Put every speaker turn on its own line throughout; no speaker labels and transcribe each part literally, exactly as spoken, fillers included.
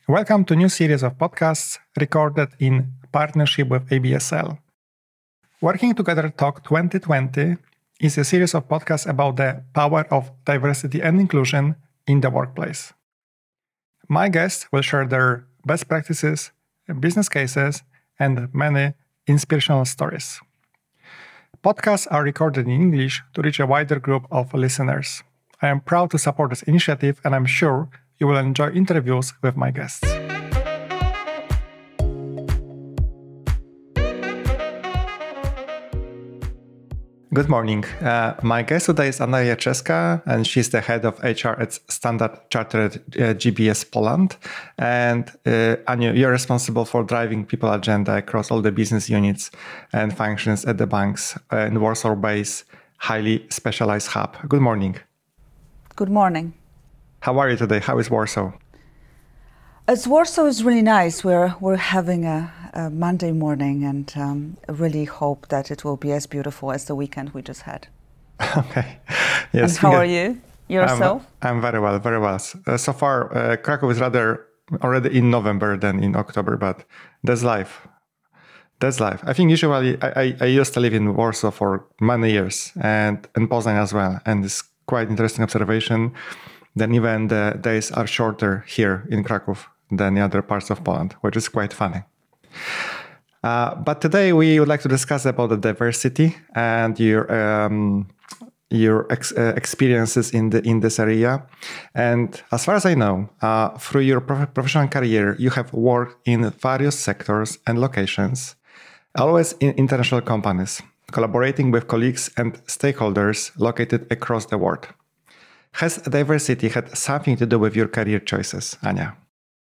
Welcome to a new series of podcasts recorded in partnership with A B S L. Working Together Talk twenty twenty is a series of podcasts about the power of diversity and inclusion in the workplace. My guests will share their best practices, business cases, and many inspirational stories. Podcasts are recorded in English to reach a wider group of listeners. I am proud to support this initiative, and I'm sure you will enjoy interviews with my guests. Good morning. Uh, my guest today is Anna Jaczeska, and she's the head of H R at Standard Chartered uh, G B S Poland. And uh, Anya, you're responsible for driving people agenda across all the business units and functions at the bank's uh, in Warsaw-based, highly specialized hub. Good morning.
Good morning.
How are you today? How is Warsaw?
It's Warsaw is really nice. We're we're having a, a Monday morning, and um, really hope that it will be as beautiful as the weekend we just had.
Okay. Yes.
And how are you yourself?
I'm, I'm very well, very well. Uh, so far, uh, Krakow is rather already in November than in October, but that's life. That's life. I think usually I, I, I used to live in Warsaw for many years, and in Poznań as well, and it's quite interesting observation. Then even the days are shorter here in Krakow than in other parts of Poland, which is quite funny. Uh, but today we would like to discuss about the diversity and your um, your ex- uh, experiences in the in this area. And as far as I know, uh, through your prof- professional career, you have worked in various sectors and locations, always in international companies, collaborating with colleagues and stakeholders located across the world. Has diversity had something to do with your career choices, Anya?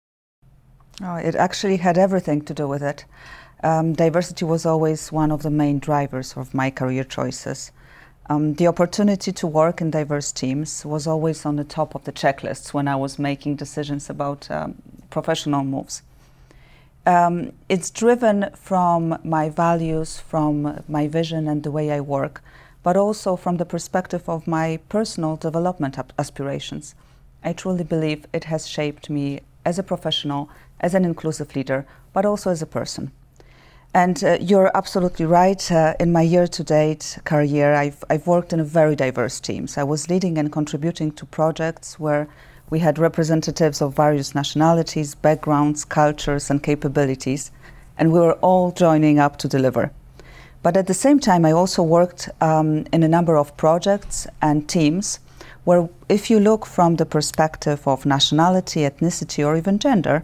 Oh, it actually had everything to do with it. Um, diversity was always one of the main drivers of my career choices. Um, the opportunity to work in diverse teams was always on the top of the checklists when I was making decisions about um, professional moves. Um, it's driven from my values, from my vision and the way I work, but also from the perspective of my personal development aspirations. I truly believe it has shaped me as a professional, as an inclusive leader, but also as a person. And uh, you're absolutely right. Uh, in my year-to-date career, I've, I've worked in very diverse teams. I was leading and contributing to projects where we had representatives of various nationalities, backgrounds, cultures, and capabilities, and we were all joining up to deliver. But at the same time, I also worked um, in a number of projects and teams where, if you look from the perspective of nationality, ethnicity, or even gender,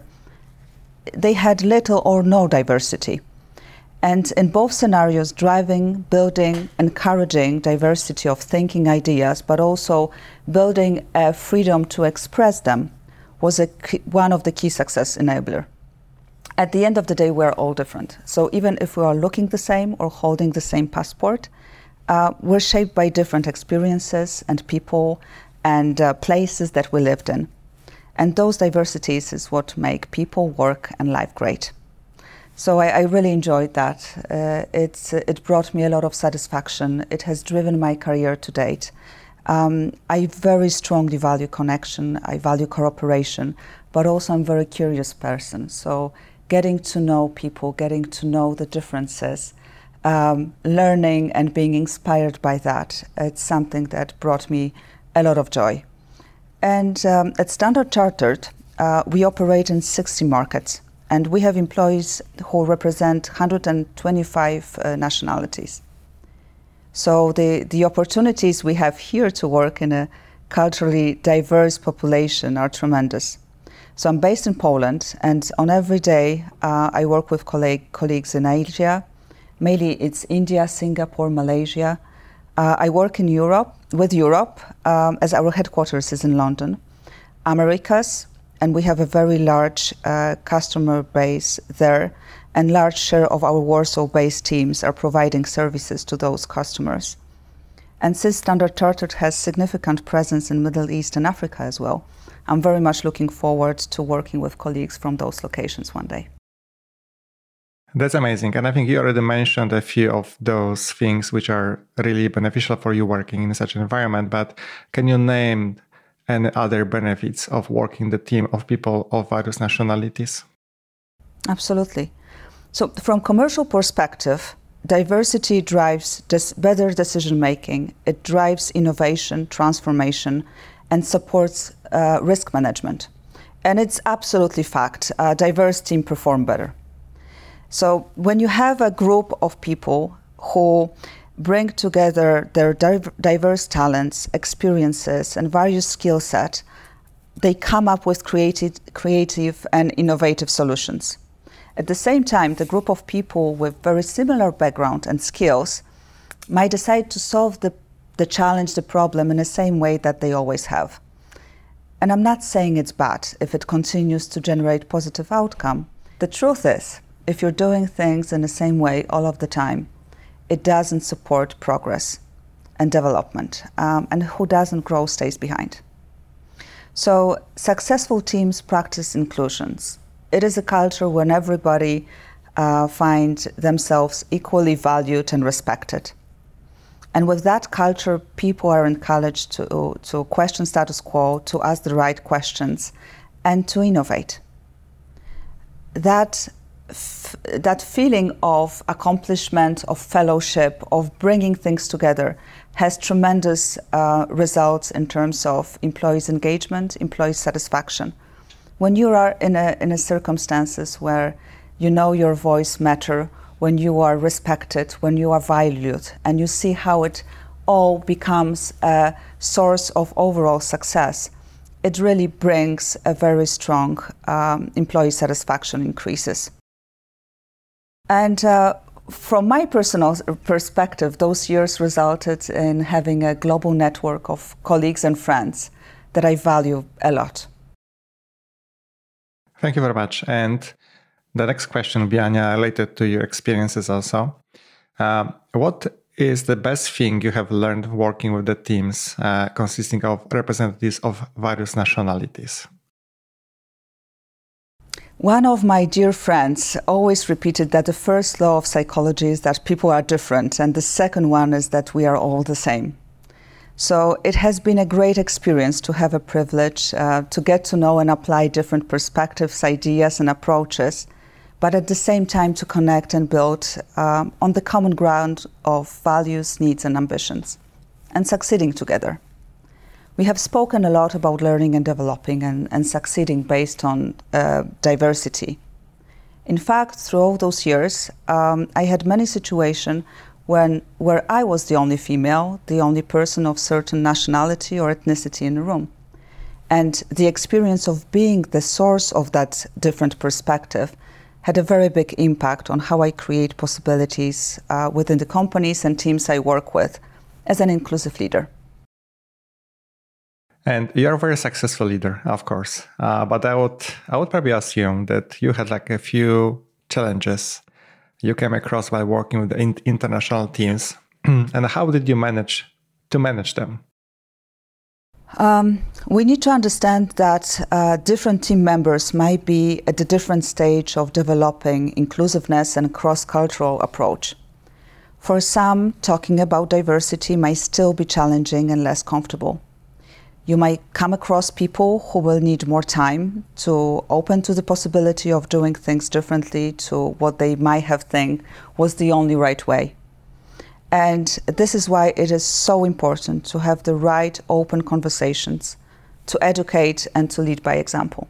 they had little or no diversity. And in both scenarios, driving, building, encouraging diversity of thinking ideas, but also building a freedom to express them was a key, one of the key success enablers. At the end of the day, we're all different. So even if we are looking the same or holding the same passport, uh, we're shaped by different experiences and people and uh, places that we lived in. And those diversities is what make people, work, and life great. So I, I really enjoyed that. Uh, it's, it brought me a lot of satisfaction. It has driven my career to date. Um, I very strongly value connection. I value cooperation, but also I'm a very curious person. So getting to know people, getting to know the differences, um, learning and being inspired by that, it's something that brought me a lot of joy. And um, at Standard Chartered, uh, we operate in sixty markets, and we have employees who represent one hundred twenty-five uh, nationalities. So the, the opportunities we have here to work in a culturally diverse population are tremendous. So I'm based in Poland, and on every day uh, I work with colleague, colleagues in Asia. Mainly it's India, Singapore, Malaysia. Uh, I work in Europe, with Europe, um, as our headquarters is in London. Americas, and we have a very large uh, customer base there, and large share of our Warsaw-based teams are providing services to those customers. And since Standard Chartered has significant presence in Middle East and Africa as well, I'm very much looking forward to working with colleagues from those locations one day.
That's amazing. And I think you already mentioned a few of those things which are really beneficial for you working in such an environment. But can you name any other benefits of working the team of people of various nationalities?
Absolutely. So from commercial perspective, diversity drives this better decision making. It drives innovation, transformation, and supports uh, risk management. And it's absolutely fact. A diverse team perform better. So when you have a group of people who bring together their div- diverse talents, experiences, and various skill sets, they come up with creative, creative and innovative solutions. At the same time, the group of people with very similar background and skills might decide to solve the, the challenge, the problem in the same way that they always have. And I'm not saying it's bad if it continues to generate positive outcome. The truth is, if you're doing things in the same way all of the time, it doesn't support progress and development. Um, and who doesn't grow stays behind. So successful teams practice inclusions. It is a culture when everybody uh, finds themselves equally valued and respected. And with that culture, people are encouraged to, to question status quo, to ask the right questions, and to innovate. That, f- that feeling of accomplishment, of fellowship, of bringing things together has tremendous uh, results in terms of employees' engagement, employee satisfaction. When you are in a, in a circumstances where you know your voice matter, when you are respected, when you are valued, and you see how it all becomes a source of overall success, it really brings a very strong um, employee satisfaction increases. And uh, from my personal perspective, those years resulted in having a global network of colleagues and friends that I value a lot.
Thank you very much. And the next question will be, Anya, related to your experiences also. Um, what is the best thing you have learned working with the teams uh, consisting of representatives of various nationalities?
One of my dear friends always repeated that the first law of psychology is that people are different, and the second one is that we are all the same. So it has been a great experience to have a privilege uh, to get to know and apply different perspectives, ideas, and approaches, but at the same time to connect and build um, on the common ground of values, needs, and ambitions, and succeeding together. We have spoken a lot about learning and developing and, and succeeding based on uh, diversity. In fact, through all those years, um, I had many situations when where I was the only female, the only person of certain nationality or ethnicity in the room. And the experience of being the source of that different perspective had a very big impact on how I create possibilities uh, within the companies and teams I work with as an inclusive leader.
And you're a very successful leader, of course. Uh, but I would I would probably assume that you had like a few challenges you came across while working with the in- international teams. And how did you manage to manage them?
Um, we need to understand that uh, different team members might be at a different stage of developing inclusiveness and cross-cultural approach. For some, talking about diversity might still be challenging and less comfortable. You might come across people who will need more time to open to the possibility of doing things differently to what they might have think was the only right way. And this is why it is so important to have the right open conversations, to educate and to lead by example.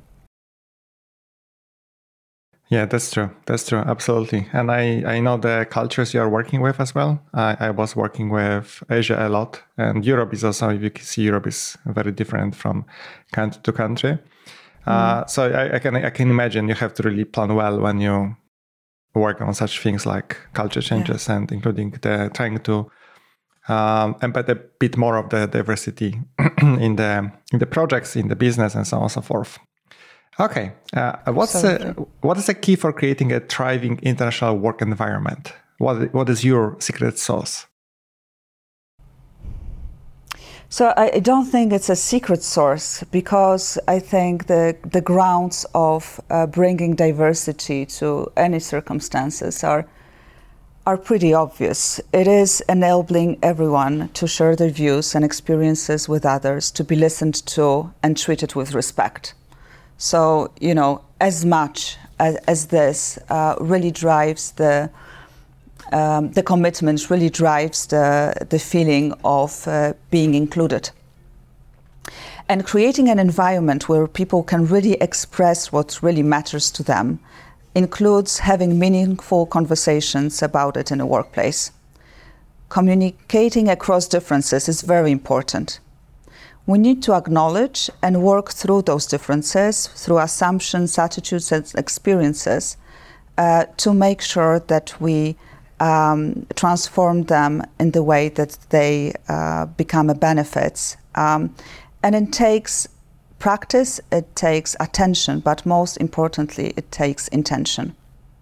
Yeah, that's true. That's true. Absolutely. And I, I know the cultures you are working with as well. I, I was working with Asia a lot, and Europe is also, you can see Europe is very different from country to country. Mm. Uh, so I, I can I can imagine you have to really plan well when you work on such things like culture changes, yeah. And including the trying to um, embed a bit more of the diversity in the in the projects, in the business, and so on and so forth. Okay, uh, what's a, what is the key for creating a thriving international work environment? What what is your secret sauce?
So I don't think it's a secret source, because I think the the grounds of uh, bringing diversity to any circumstances are are pretty obvious. It is enabling everyone to share their views and experiences with others, to be listened to and treated with respect. So, you know, as much as, as this uh, really drives the um, the commitment, really drives the, the feeling of uh, being included. And creating an environment where people can really express what really matters to them includes having meaningful conversations about it in a workplace. Communicating across differences is very important. We need to acknowledge and work through those differences, through assumptions, attitudes, and experiences, uh, to make sure that we um, transform them in the way that they uh, become a benefit. Um, and it takes practice, it takes attention, but most importantly, it takes intention.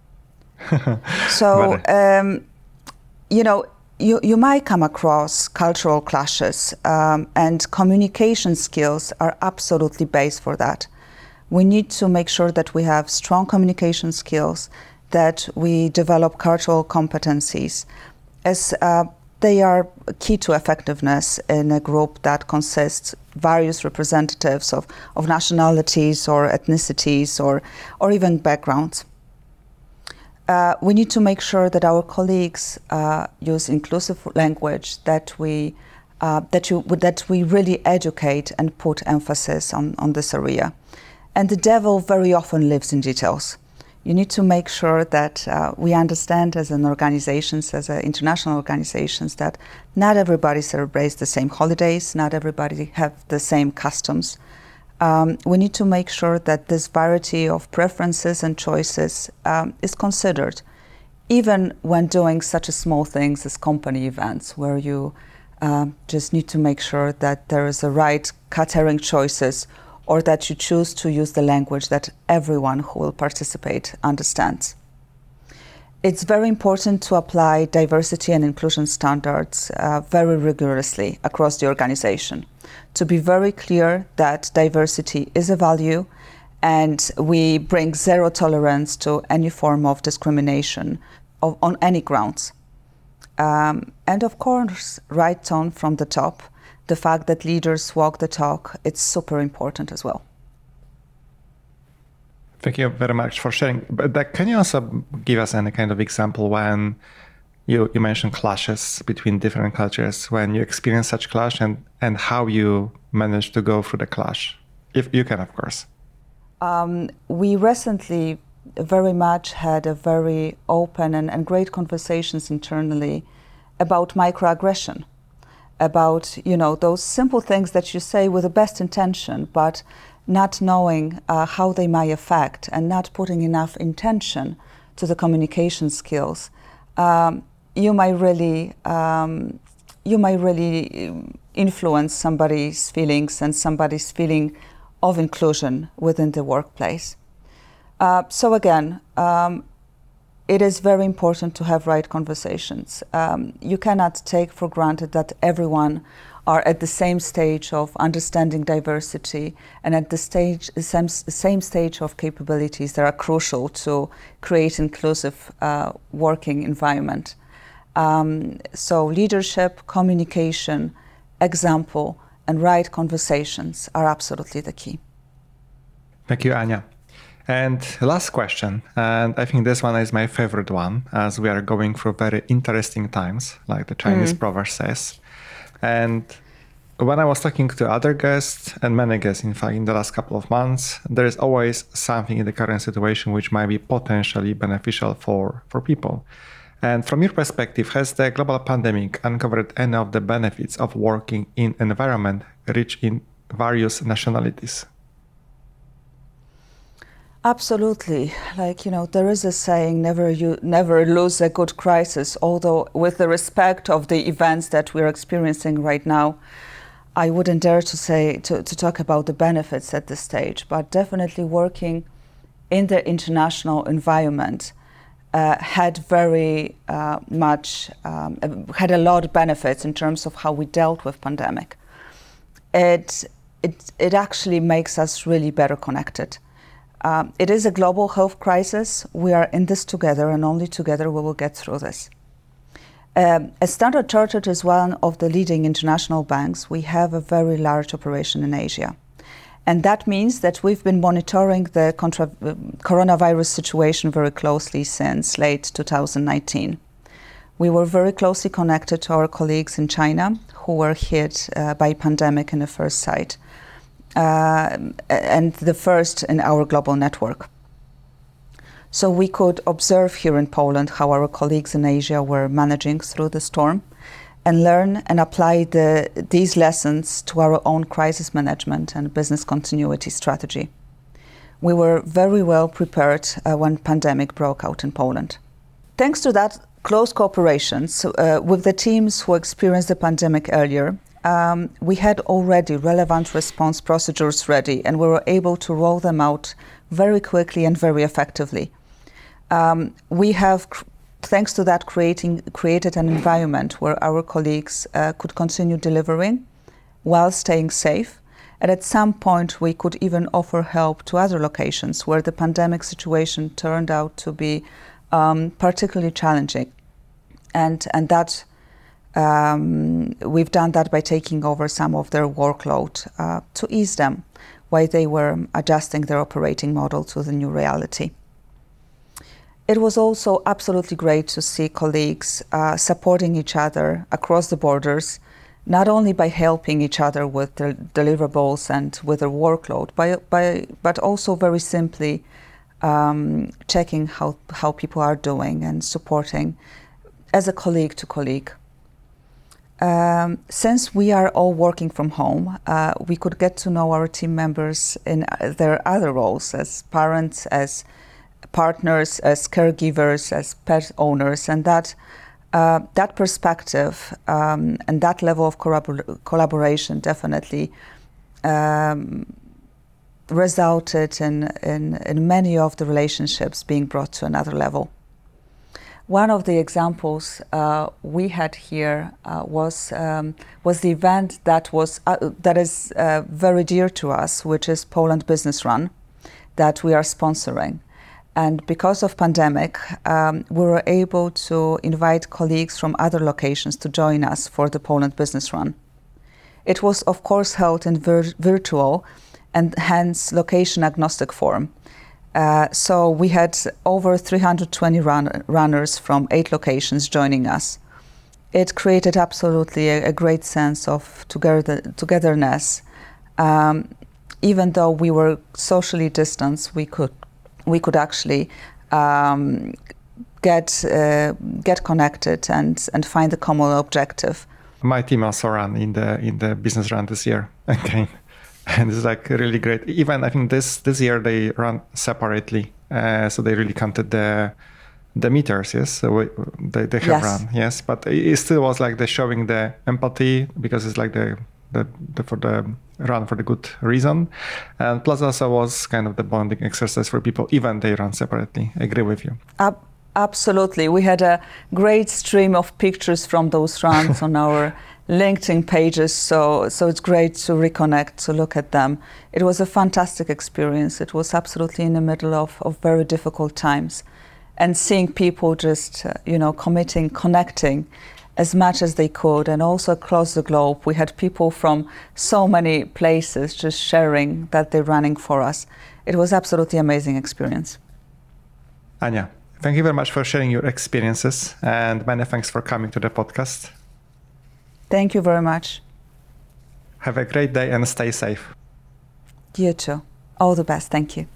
So, um, you know, you, you might come across cultural clashes, um, and communication skills are absolutely based for that. We need to make sure that we have strong communication skills, that we develop cultural competencies, as uh, they are key to effectiveness in a group that consists various representatives of, of nationalities or ethnicities or, or even backgrounds. Uh, we need to make sure that our colleagues uh, use inclusive language, that we, uh, that, you, that we really educate and put emphasis on, on this area. And the devil very often lives in details. You need to make sure that uh, we understand as an organizations, as uh, international organizations, that not everybody celebrates the same holidays, not everybody have the same customs. Um, we need to make sure that this variety of preferences and choices um, is considered, even when doing such a small things as company events, where you uh, just need to make sure that there is a right catering choices, or that you choose to use the language that everyone who will participate understands. It's very important to apply diversity and inclusion standards uh, very rigorously across the organization, to be very clear that diversity is a value and we bring zero tolerance to any form of discrimination of, on any grounds. Um, and of course, right tone from the top. The fact that leaders walk the talk, it's super important as well.
Thank you very much for sharing. But that, can you also give us any kind of example when you, you mentioned clashes between different cultures, when you experience such clash and, and how you managed to go through the clash? If you can, of course.
Um, we recently very much had a very open and, and great conversations internally about microaggression. About, you know, those simple things that you say with the best intention, but not knowing uh, how they might affect and not putting enough intention to the communication skills. Um, you might really, um, you might really influence somebody's feelings and somebody's feeling of inclusion within the workplace. Uh, so again, um, it is very important to have right conversations. Um, you cannot take for granted that everyone are at the same stage of understanding diversity and at the stage, the same, same stage of capabilities that are crucial to create inclusive uh, working environment. Um, so leadership, communication, example, and right conversations are absolutely the key.
Thank you, Anya. And last question, and I think this one is my favorite one, as we are going through very interesting times, like the Chinese mm. proverb says. And when I was talking to other guests, and many guests, in fact, in the last couple of months, there is always something in the current situation which might be potentially beneficial for, for people. And from your perspective, has the global pandemic uncovered any of the benefits of working in an environment rich in various nationalities?
Absolutely. Like, you know, there is a saying, never you never lose a good crisis, although with the respect of the events that we're experiencing right now, I wouldn't dare to say, to, to talk about the benefits at this stage, but definitely working in the international environment uh, had very uh, much, um, had a lot of benefits in terms of how we dealt with pandemic. It, it, it actually makes us really better connected. Um, it is a global health crisis. We are in this together, and only together we will get through this. Um, as Standard Chartered is one of the leading international banks, we have a very large operation in Asia. And that means that we've been monitoring the contra- uh, coronavirus situation very closely since late two thousand nineteen. We were very closely connected to our colleagues in China who were hit uh, by pandemic in the first site, uh, and the first in our global network. So we could observe here in Poland how our colleagues in Asia were managing through the storm and learn and apply the, these lessons to our own crisis management and business continuity strategy. We were very well prepared uh, when pandemic broke out in Poland. Thanks to that close cooperation uh, with the teams who experienced the pandemic earlier, um, we had already relevant response procedures ready, and we were able to roll them out very quickly and very effectively. Um, we have, thanks to that, creating, created an environment where our colleagues uh, could continue delivering while staying safe. And at some point, we could even offer help to other locations where the pandemic situation turned out to be um, particularly challenging. And, and that um, we've done that by taking over some of their workload uh, to ease them while they were adjusting their operating model to the new reality. It was also absolutely great to see colleagues uh, supporting each other across the borders, not only by helping each other with their deliverables and with their workload, by, by, but also very simply um, checking how, how people are doing and supporting as a colleague to colleague. Um, since we are all working from home, uh, we could get to know our team members in their other roles as parents, as partners, as caregivers, as pet owners, and that uh, that perspective um, and that level of collabor- collaboration definitely um, resulted in, in, in many of the relationships being brought to another level. One of the examples uh, we had here uh, was um, was the event that was uh, that is uh, very dear to us, which is Poland Business Run, that we are sponsoring. And because of pandemic, um, we were able to invite colleagues from other locations to join us for the Poland Business Run. It was, of course, held in vir- virtual and hence location agnostic form. Uh, so we had over three hundred twenty run- runners from eight locations joining us. It created absolutely a, a great sense of together- togetherness. Um, even though we were socially distanced, we could we could actually um, get uh, get connected and, and find a common objective.
My team also ran in the in the business run this year again, and it's like really great. Even I think this this year they run separately, uh, so they really counted the the meters. Yes, so we, they they have yes. run. Yes, but it still was like the showing the empathy because it's like the the, the for the run for the good reason, and plus also was kind of the bonding exercise for people even they run separately. I agree with you.
Uh, absolutely, we had a great stream of pictures from those runs on our LinkedIn pages, so so it's great to reconnect, to look at them. It was a fantastic experience. It was absolutely in the middle of, of very difficult times, and seeing people just uh, you know committing, connecting as much as they could, and also across the globe. We had people from so many places just sharing that they're running for us. It was absolutely amazing experience.
Ania, thank you very much for sharing your experiences, and many thanks for coming to the podcast.
Thank you very much.
Have a great day and stay safe.
You too. All the best. Thank you.